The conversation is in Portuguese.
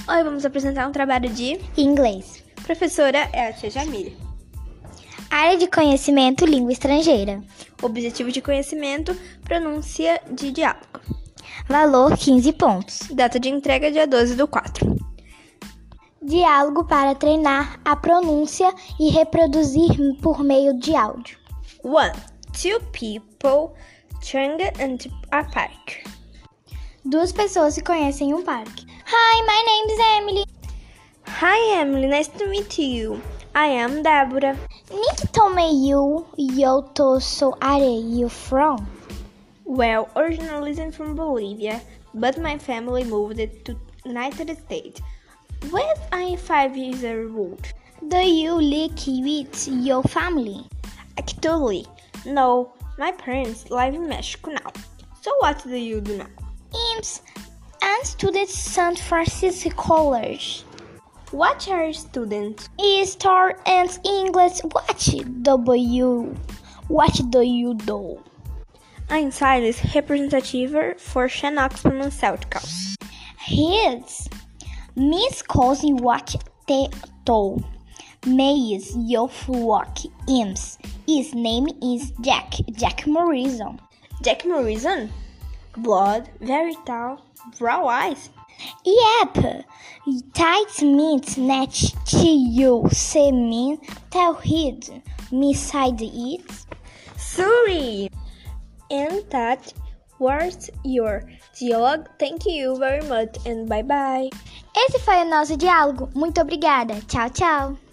Hoje vamos apresentar um trabalho de inglês. Professora é a tia Jamile. Área de conhecimento, língua estrangeira. Objetivo de conhecimento, pronúncia de diálogo. Valor 15 pontos. Data de entrega dia 12/4. Diálogo para treinar a pronúncia e reproduzir por meio de áudio. 1. Two people turn into a park. Duas pessoas se conhecem em um parque. Hi, my name is Emily. Hi Emily, nice to meet you. I am Débora. Nick told me eu sou are you from? Well, originally from Bolivia, but my family moved to United States when I 5 years old. Do you live with your family? Actually, no. My parents live in Mexico now. So what do you do now? I'm studying San Francisco College. What are you students? History and English. What do you do? I'm Silas, representative for Xenox Pharmaceuticals. His Miss Cousin what te told me is your work ims. His name is Jack Morrison. Jack Morrison? Blood, very tall, brown eyes. Yep, tight means net to you, se mean tell hid, beside it. Sorry! And that was your dialogue. Thank you very much and bye bye. Esse foi o nosso diálogo. Muito obrigada. Tchau, tchau.